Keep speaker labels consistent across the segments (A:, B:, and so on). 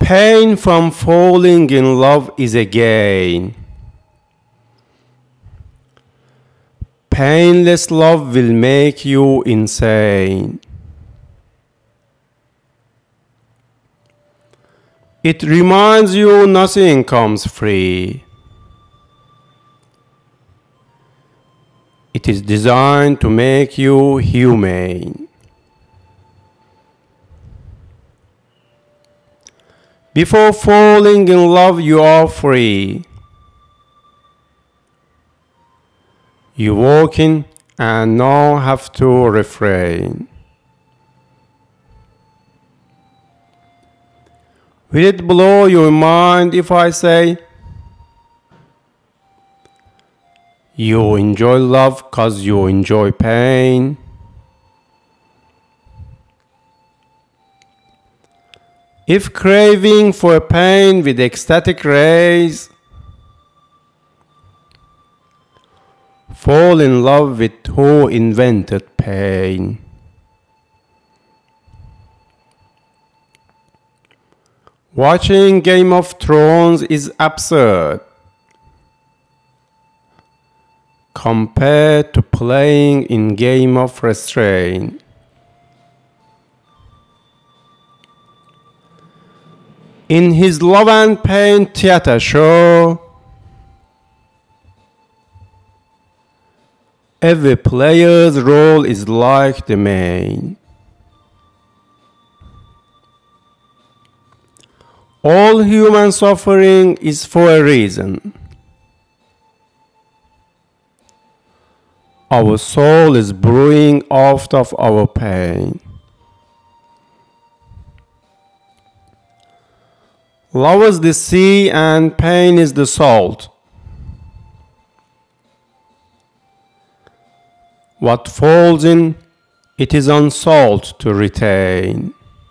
A: Pain from falling in love is a gain. Painless love will make you insane. It reminds you nothing comes free. It is designed to make you humane. Before falling in love, you are free. You walk in and now have to refrain. Will it blow your mind if I say you enjoy love 'cause you enjoy pain? If craving for pain with ecstatic rays, fall in love with who invented pain. Watching Game of Thrones is absurd compared to playing in Game of Restraint. In his Love and Pain theater show, every player's role is like the main. All human suffering is for a reason. Our soul is brewing out of our pain. Love is the sea and pain is the salt. What falls in, it is on salt to retain.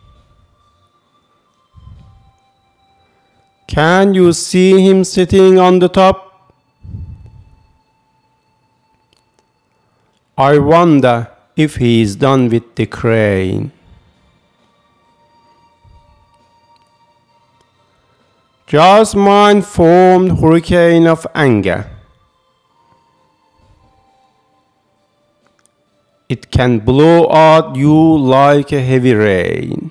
A: Can you see him sitting on the top? I wonder if he is done with the crane. Just mind-formed hurricane of anger. It can blow at you like a heavy rain.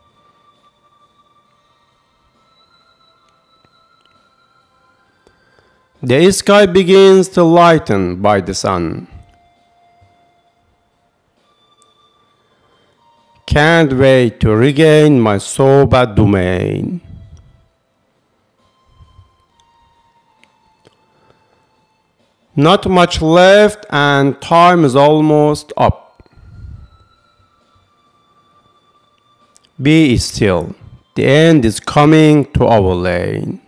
A: The sky begins to lighten by the sun. Can't wait to regain my sober domain. Not much left and time is almost up. Be still, the end is coming to our lane.